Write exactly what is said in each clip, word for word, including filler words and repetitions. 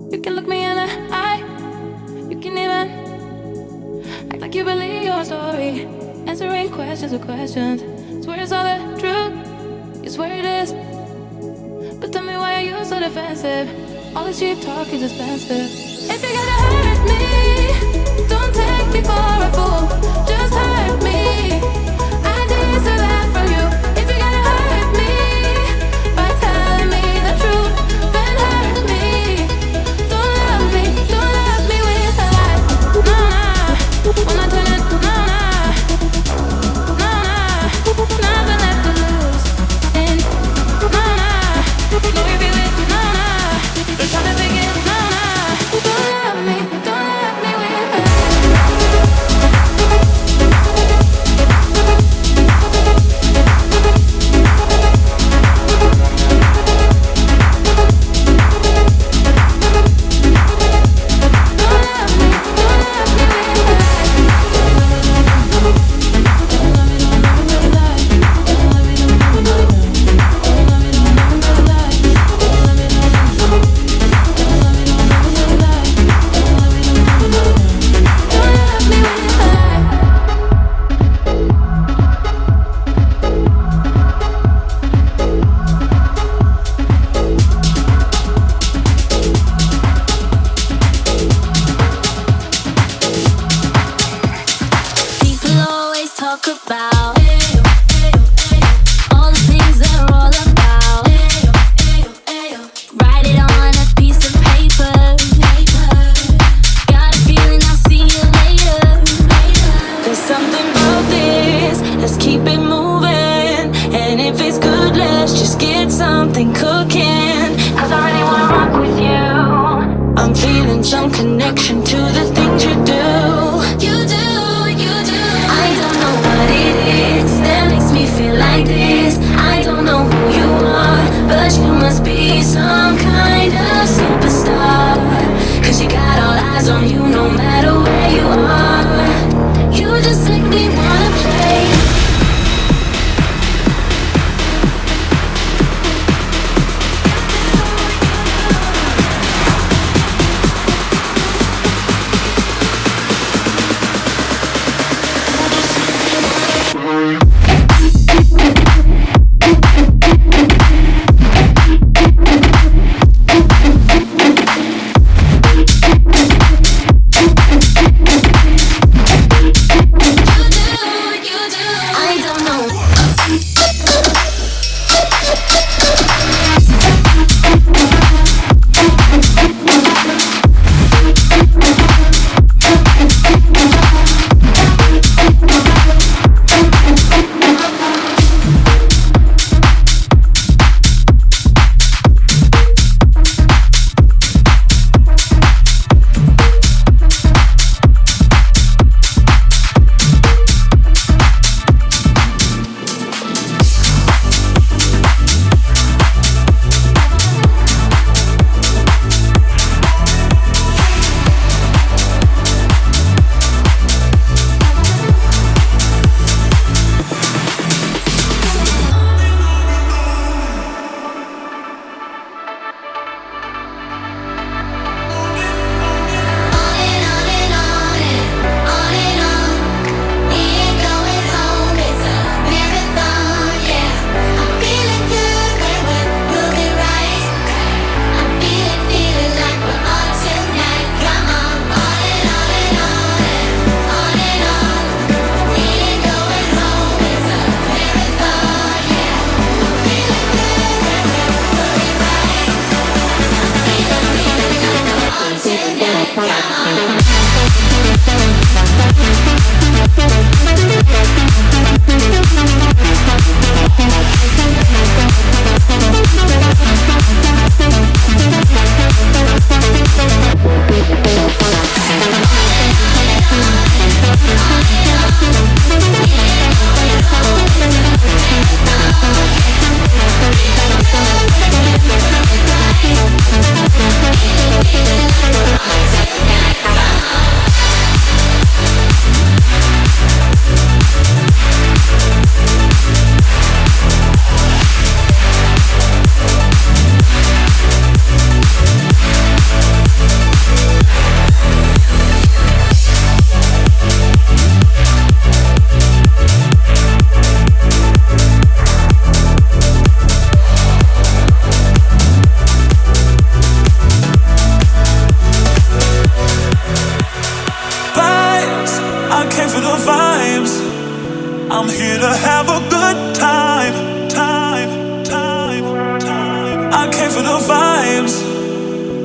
You can look me in the eye. You can even act like you believe your story. Answering questions with questions. Swear it's all the truth. You swear it is. But tell me, why are you so defensive? All this cheap talk is expensive. If you're gonna hurt me, don't take me for a fool. Just hurt me. I deserve that from you. If you're gonna hurt me by telling me the truth, then hurt me. Don't love me, don't love me with a lie. No, nah, when I turn it, no, nah, no, nah, nothing left to lose. And no, nah, no, you feel it, no, nah, just trying to begin, no, nah, don't love me, don't love me with a lie.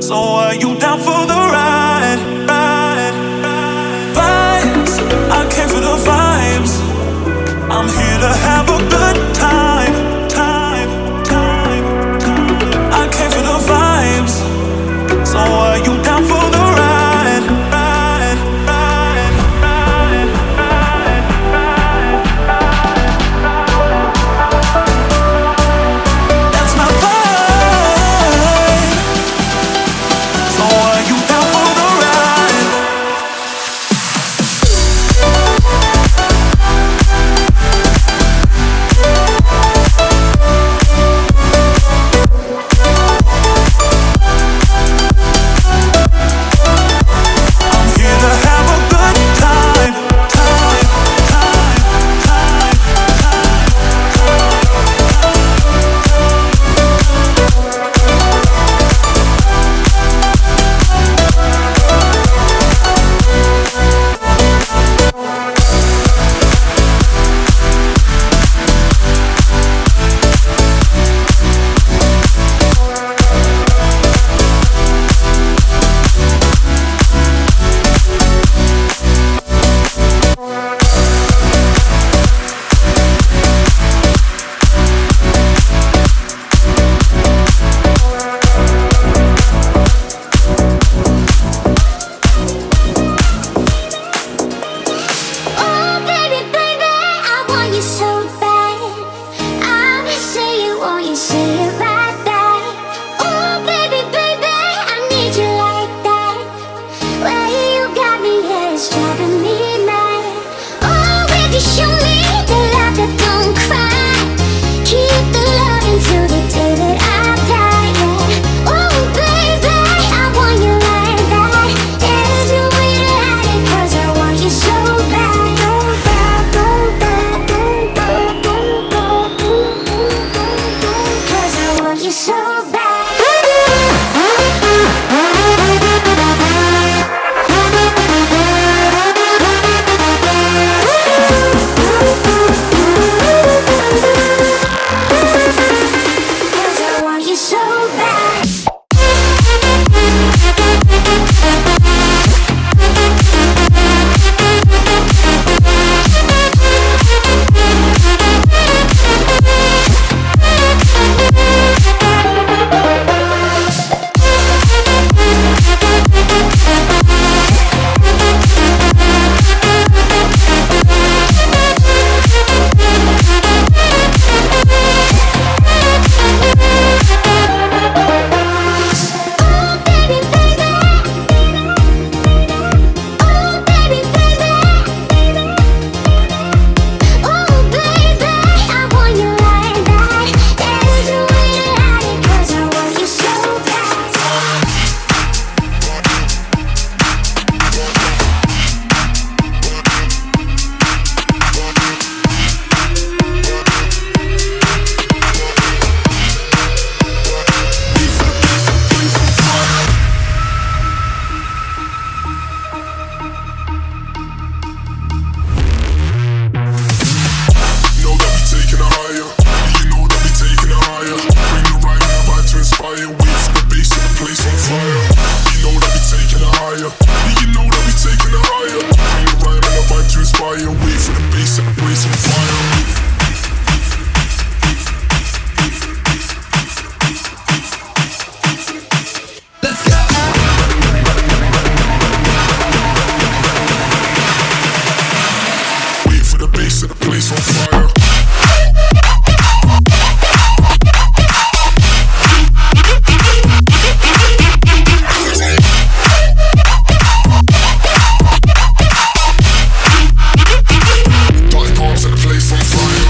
So are you down for the ride? Ride, ride. Vibes, I came for the vibes. I'm here to have a good time, time, time, time. I came for the vibes. So are you down for the ride? Ride, ride, ride, ride, ride, ride. That's my vibe. So are you down for the ride? I'm here to have a good time, time, time, time, Oh, baby, baby, I want you so bad. I'ma say you want you say it right back. Oh, baby, baby, I need you like that. Well, you got me, yeah, it's driving me mad. Oh, if you show me the love that don't cry, keep the love until the day that I die, yeah. Oh, baby, I want you like that. There's no way to hide it, 'cause I want you so bad. So bad, so bad, so bad, so bad. 'Cause I want you so bad. Cause I want you so bad. Oh, baby, baby. Oh, baby, baby. Oh, baby, I want you like that. There's no way to hide it, 'cause I want you so bad. You know that we taking it higher. You know that we taking it higher. Bring the right and the vibe to inspire. Wait for the bass and the place on fire. You know that we taking it higher. You know that we taking it higher. Bring the right and the vibe to inspire. Wait for the bass and the place on fire. Wait for the bass and the place on fire. Dotted palms and the place on fire.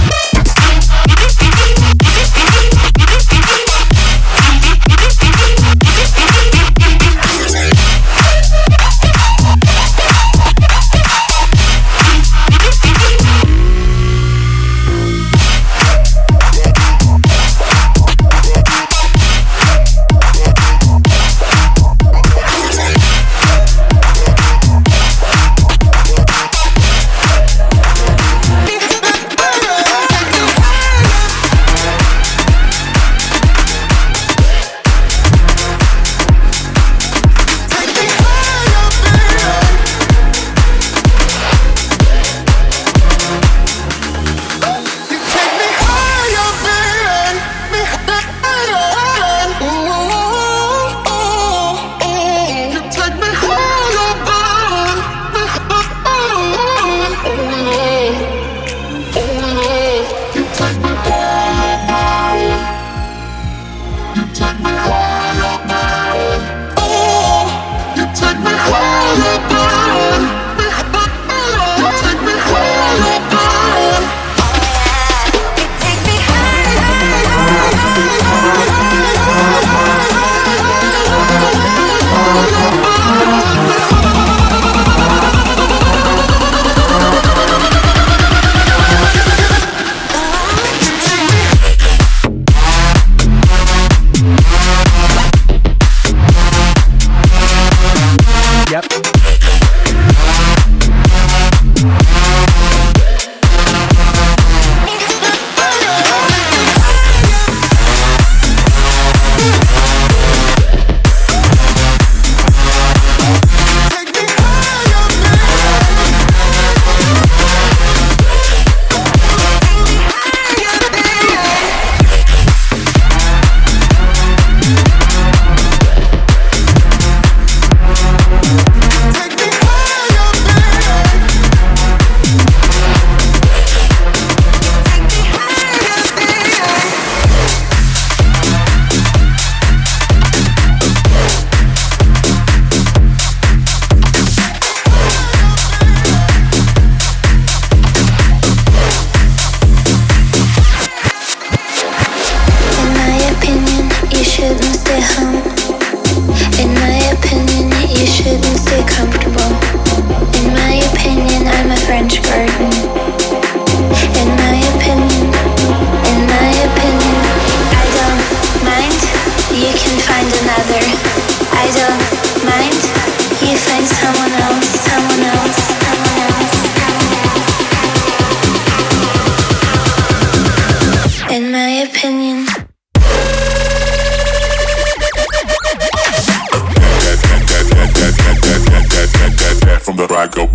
ride go.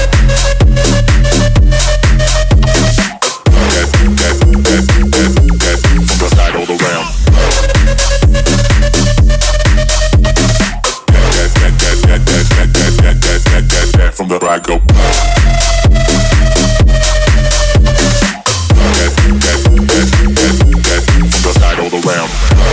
From the ride go. From the side all around.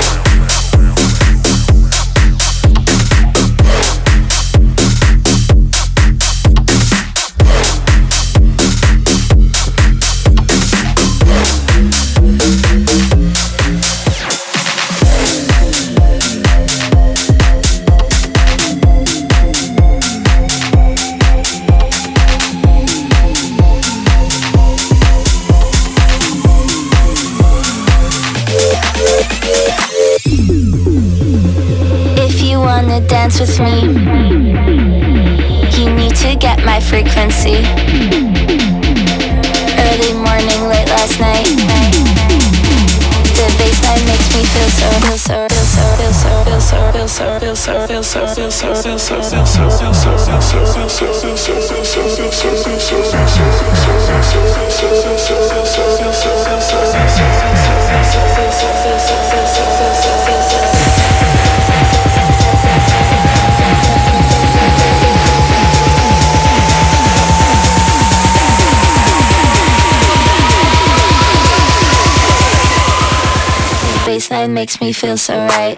Dance with me. You need to get my frequency. Early morning, late last night. The bassline makes me feel so, feel so, feel so, feel so, feel so, feel so, feel so, feel so, feel so, feel so, feel so. Baseline makes me feel so right.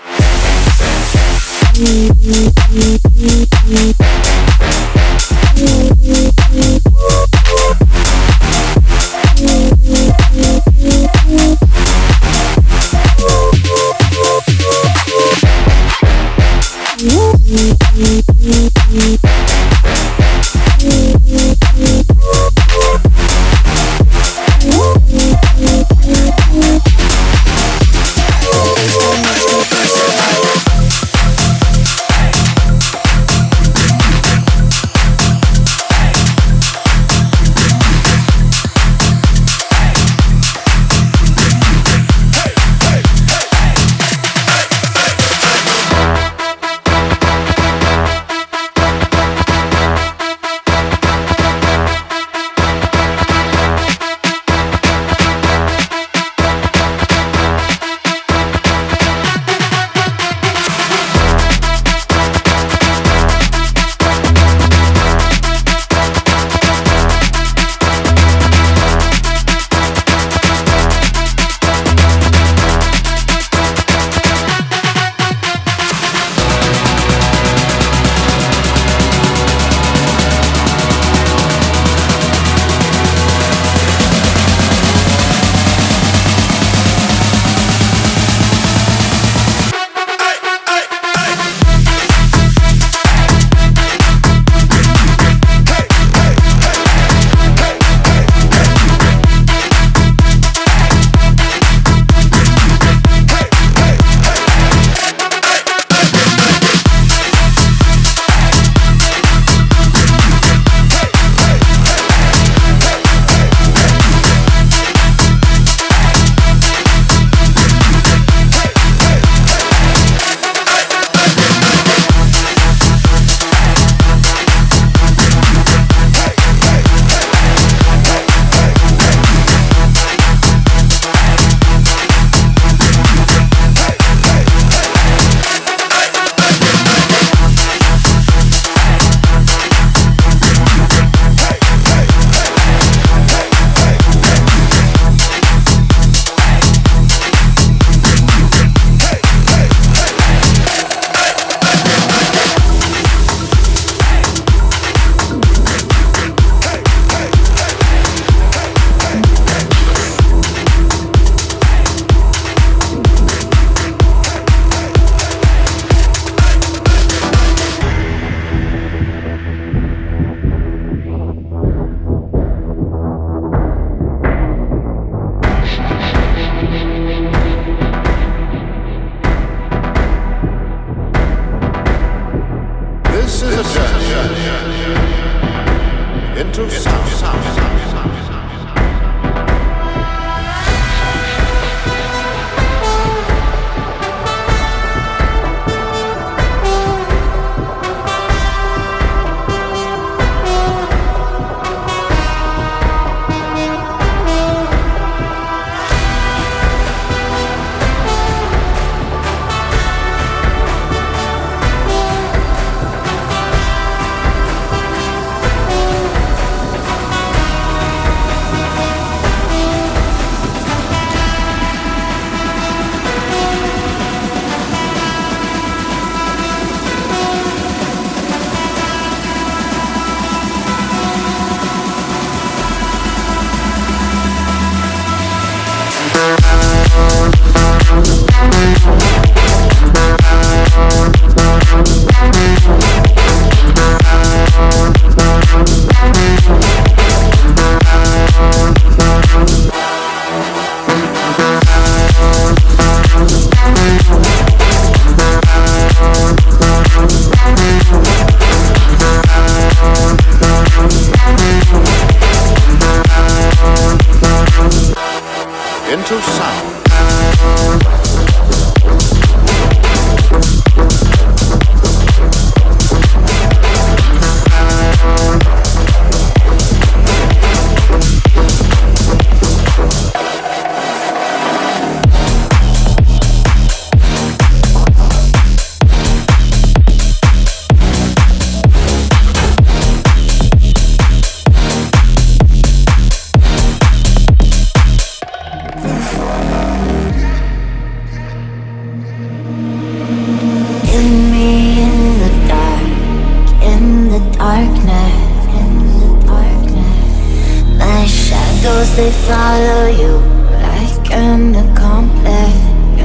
follow you like an accomplice.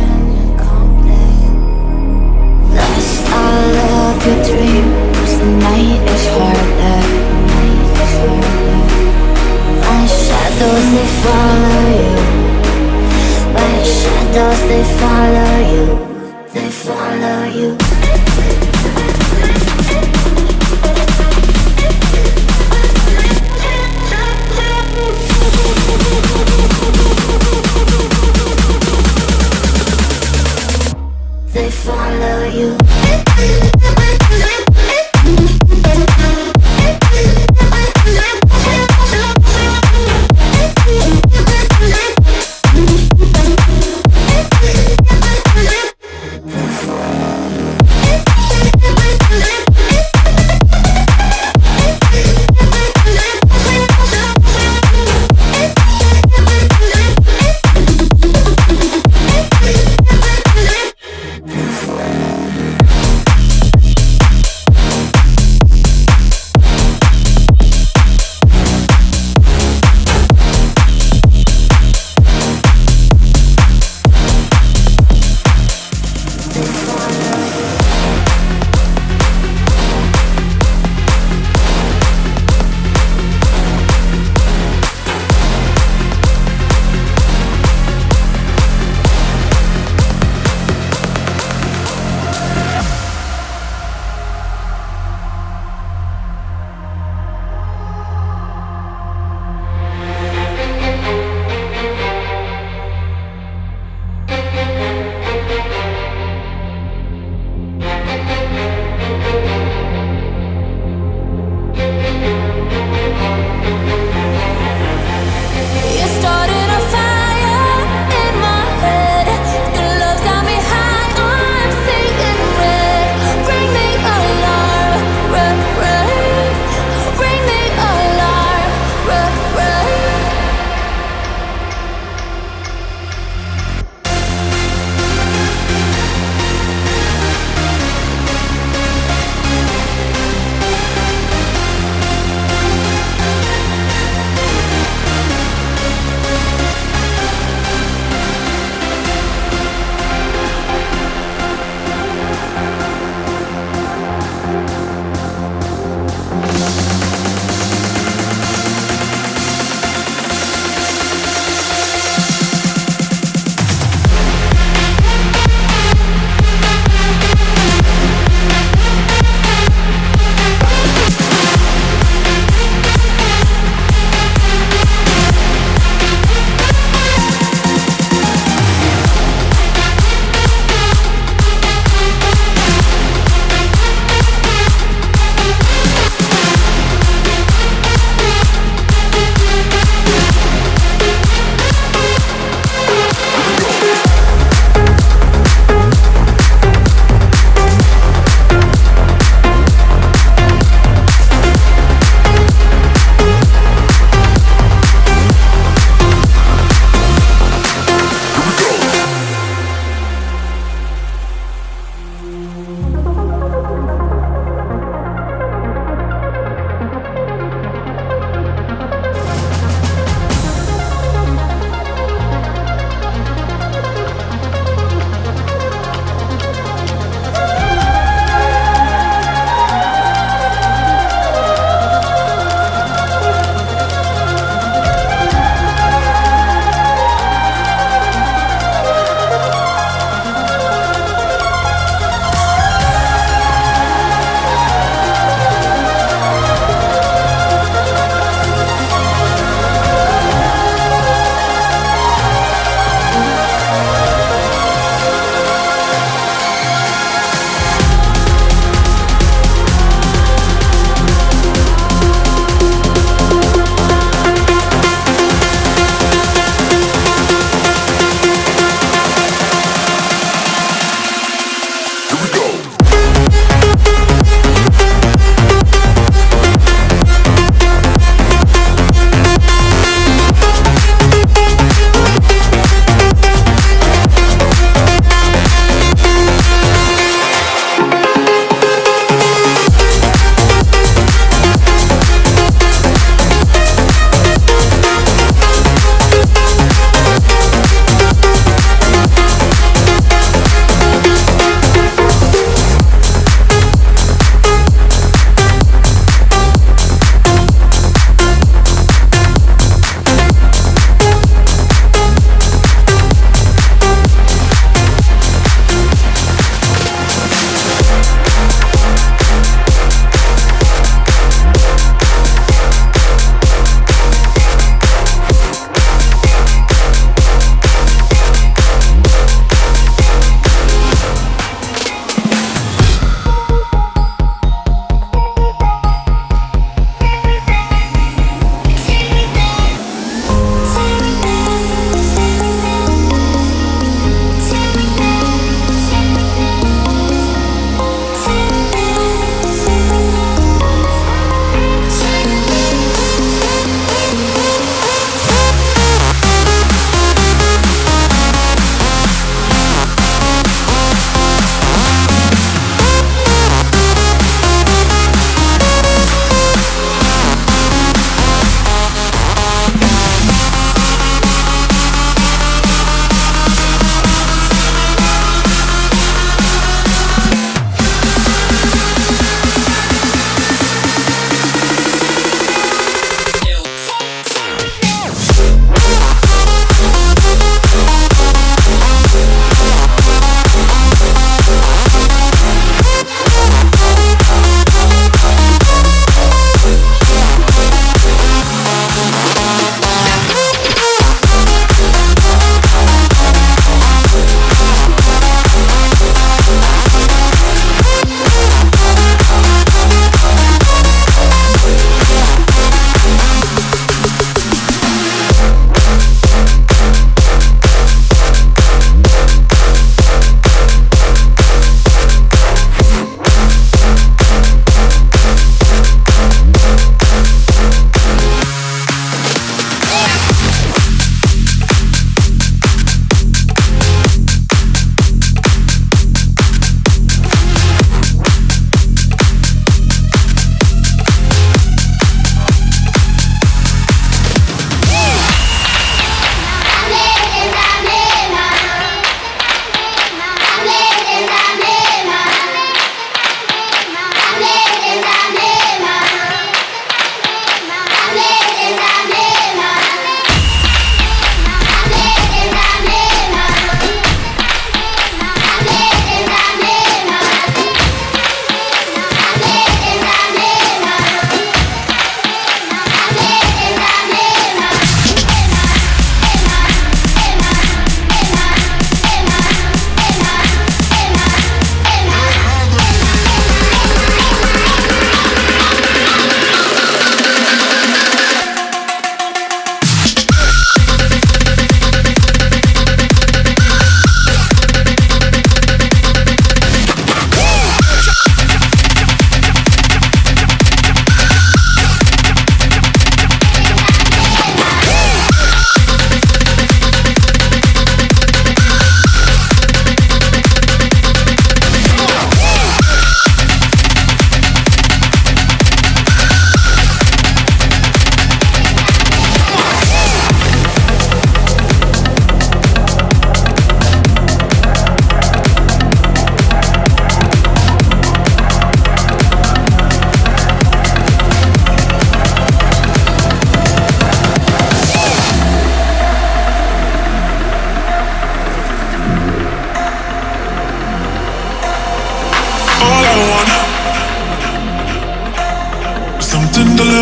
Lost all of your dreams, the night is harder. My shadows, they follow you. My shadows, they follow you. They follow you.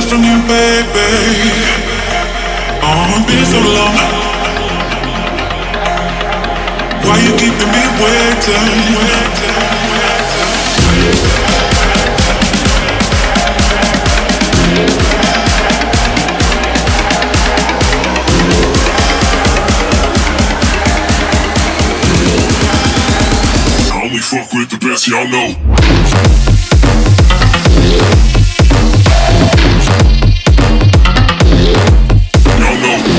from you, baby. Oh, it's been so long. Why you keeping me waiting? I only fuck with the best, y'all know. Y'all know.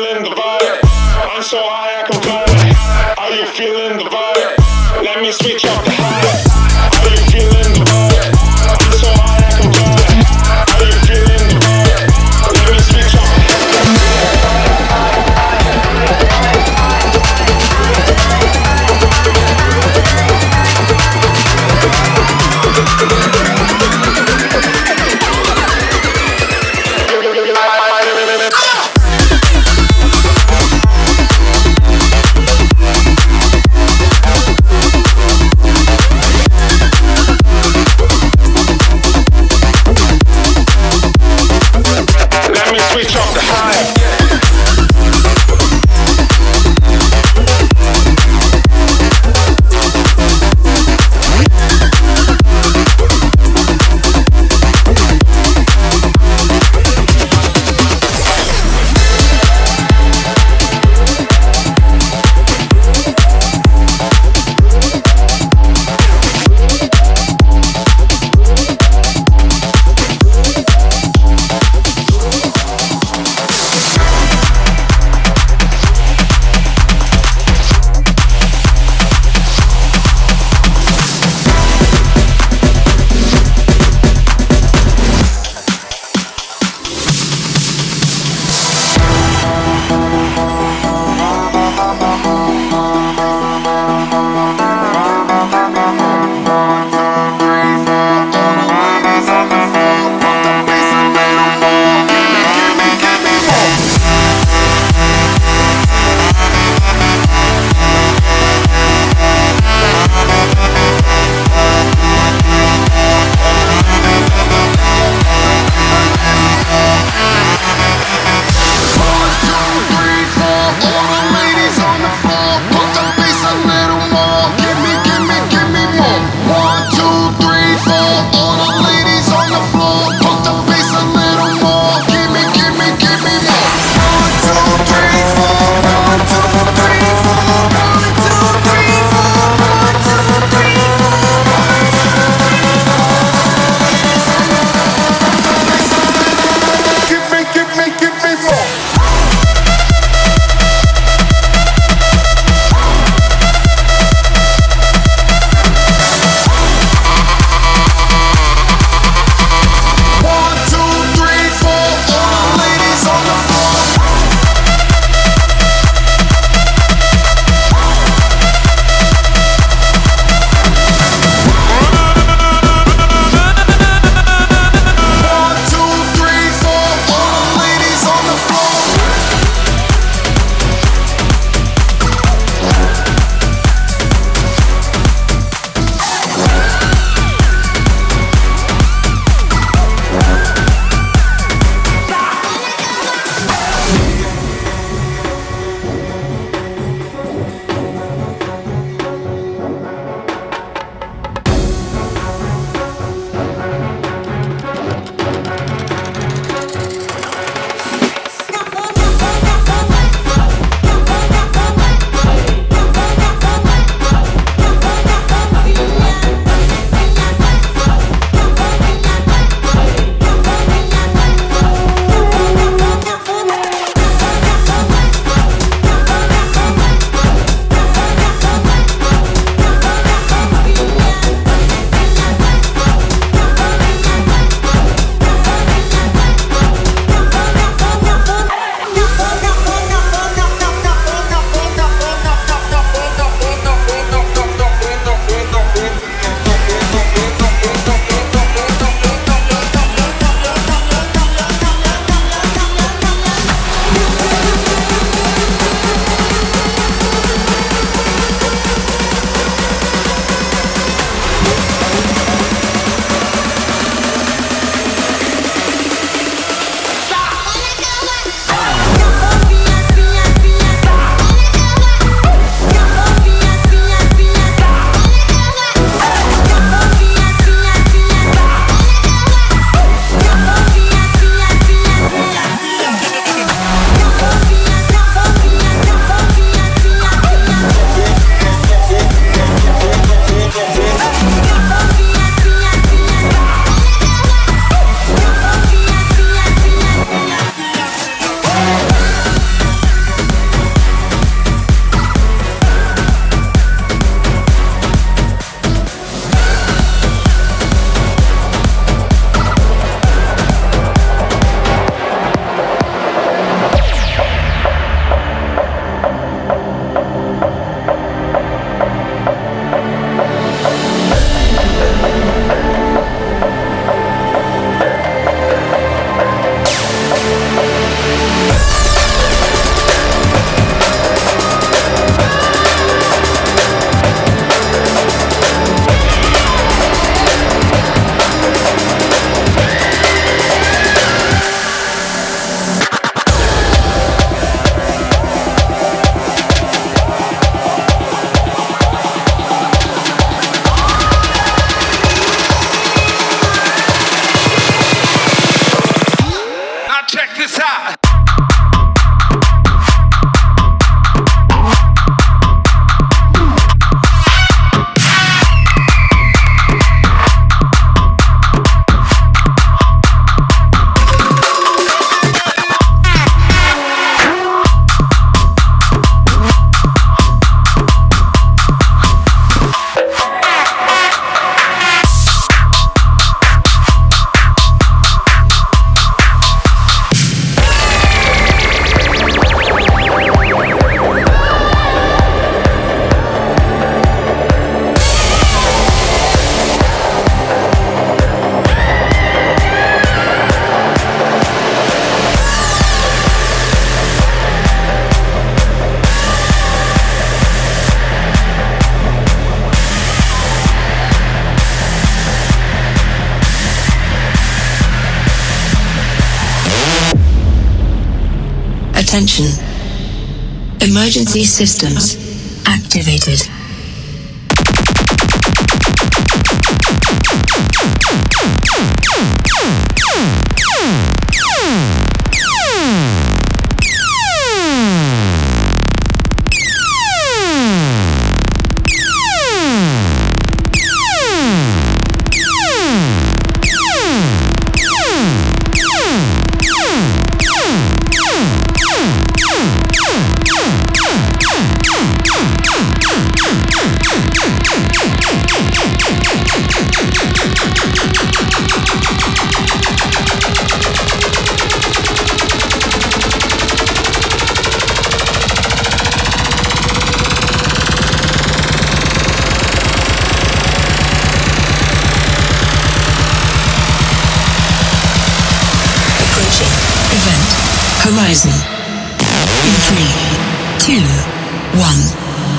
feeling the vibe? I'm so high I can fly. Are you feeling the vibe? Let me switch up the high. Are you feeling the vibe? I'm so high I can fly. Are you feeling the vibe? Let me switch up the Attention. Emergency systems activated. Horizon. In three, two, one.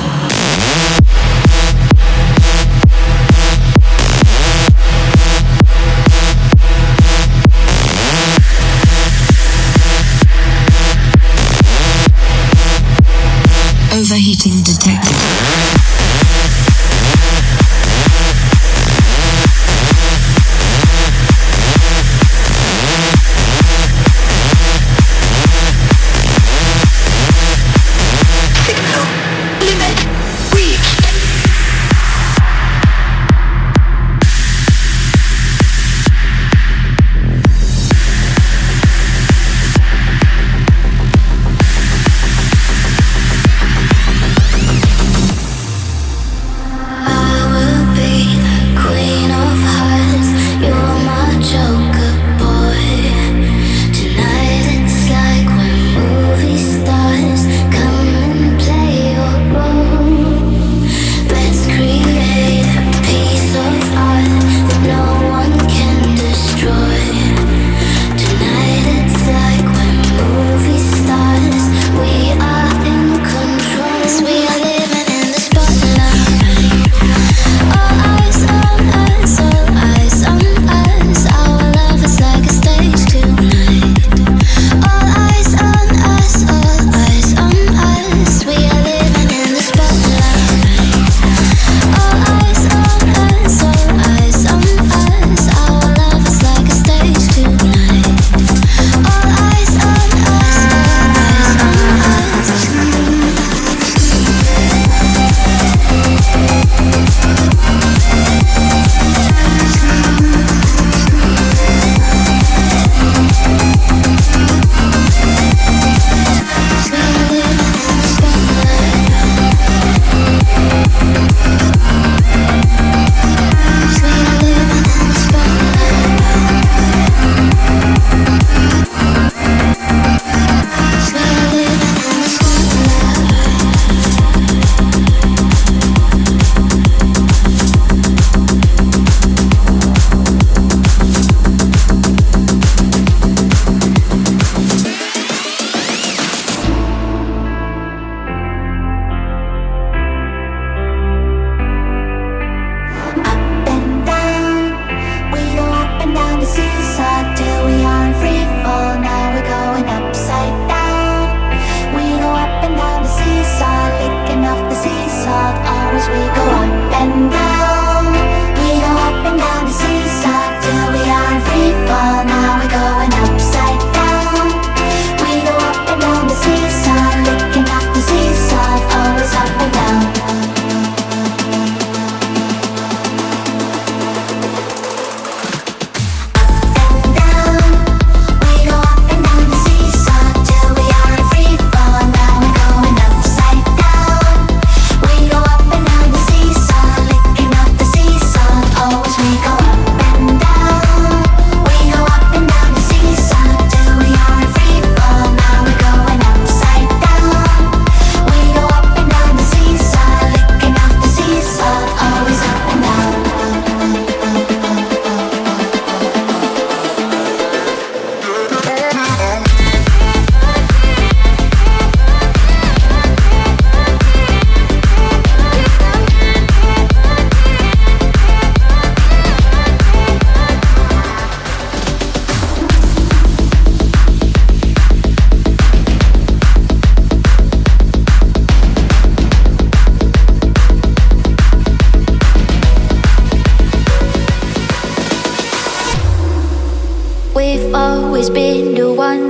Overheating detected.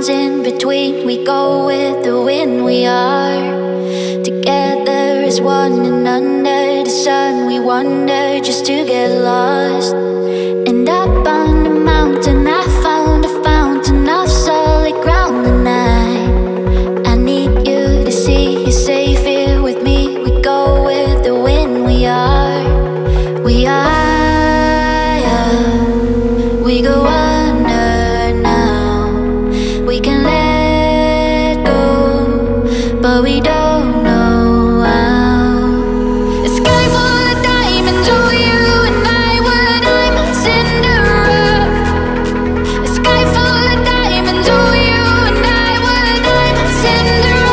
mountains in between. We go with the wind, we are together as one, and under the sun we wander just to get lost. And up on the mountain I found a fountain of solid ground, and I, I need you to see you're safe here with me. We go with the wind, we are, we are, yeah. We go under now. We can let go, but we don't know how. A sky full of diamonds, oh you and I, what I'm a Cinderella. A sky full of diamonds, oh you and I, what I'm a Cinderella.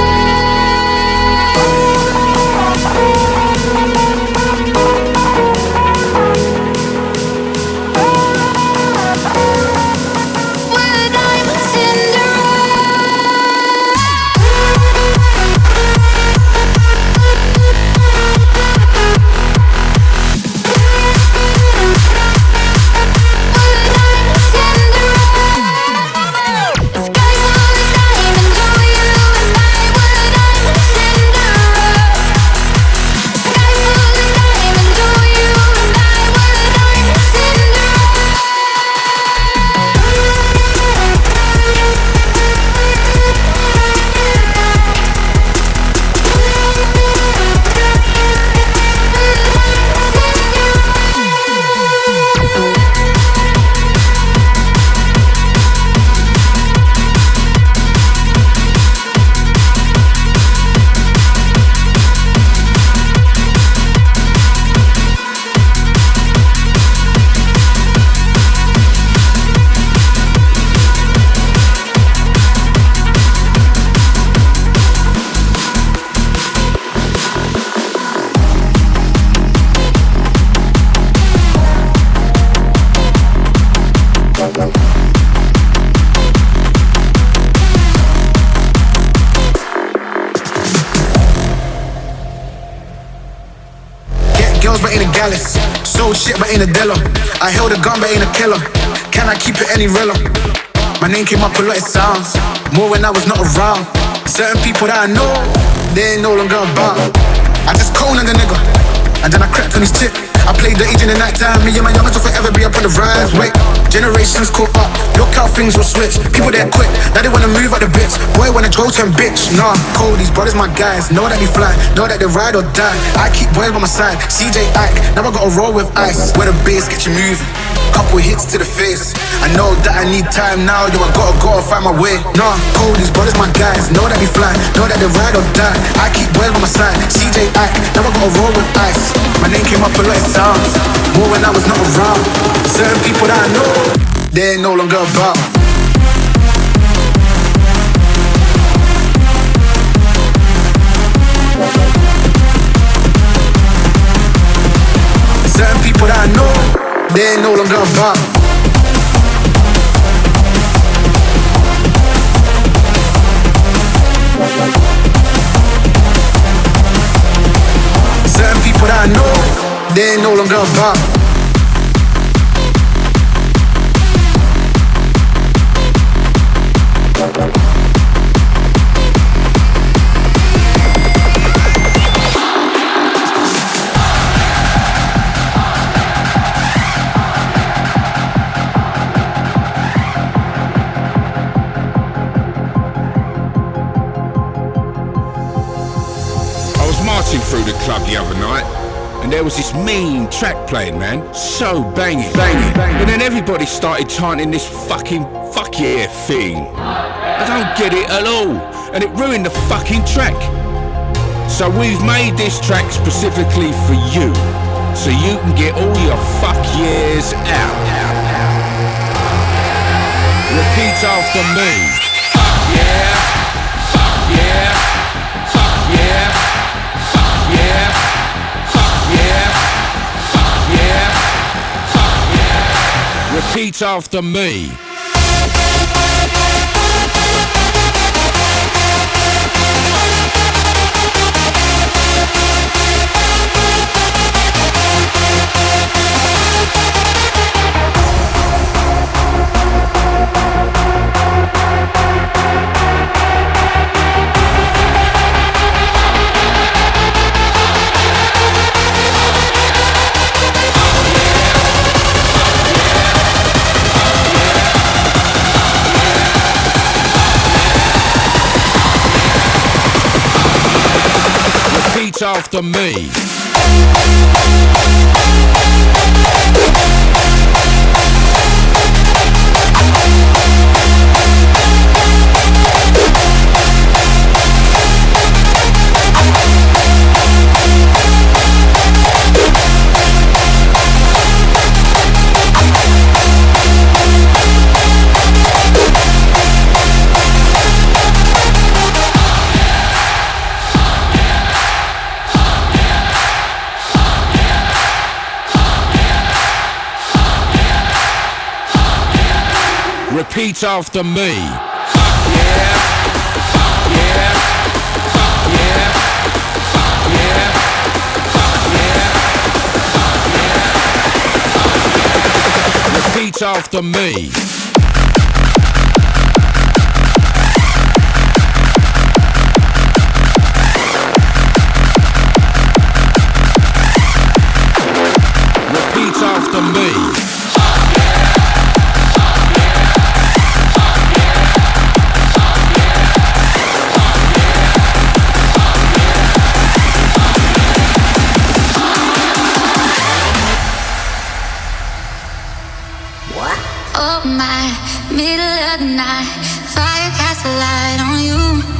What I'm a Cinderella. Get girls but ain't a gallus. Sold shit but ain't a dealer. I held a gun but ain't a killer. Can I keep it any realer? My name came up a lot of sounds, more when I was not around. Certain people that I know, they ain't no longer about. I just coned the nigga, and then I crept on his tip. I played the age in the night time. Me and my youngest will forever be up on the rise. Wait, generations caught up. Look how things will switch. People there quick, now they wanna move out the bits. Boy wanna go turn bitch. Nah, cold, these brothers my guys. Know that they fly, know that they ride or die. I keep boys by my side. C J Ike, now I gotta roll with ice. Where the bass get you moving, couple hits to the face. I know that I need time now. Yo, I gotta go and find my way. Nah, cold, these brothers my guys. Know that they fly, know that they ride or die. I keep boys by my side. C J Ike, now I gotta roll with ice. My name came up a lot of sounds, more when I was not around. Certain people that I know, they ain't no longer about. Certain people that I know, they ain't no longer about. Certain people that I know, they ain't no longer about. Through the club the other night, and there was this mean track playing, man, so banging, banging, but then everybody started chanting this fucking fuck yeah thing. I don't get it at all, and it ruined the fucking track. So we've made this track specifically for you, so you can get all your fuck yeahs out. Repeat after me. Fuck yeah, fuck yeah, fuck yeah. Yeah, fuck yeah, fuck yeah, fuck yeah. Repeat after me. Repeat after me. Repeat after me. Fuck yeah. Fuck yeah. Fuck yeah. Fuck yeah. Fuck yeah. Fuck yeah. Repeat after me. Repeat after me. Oh my, middle of the night, fire casts a light on you.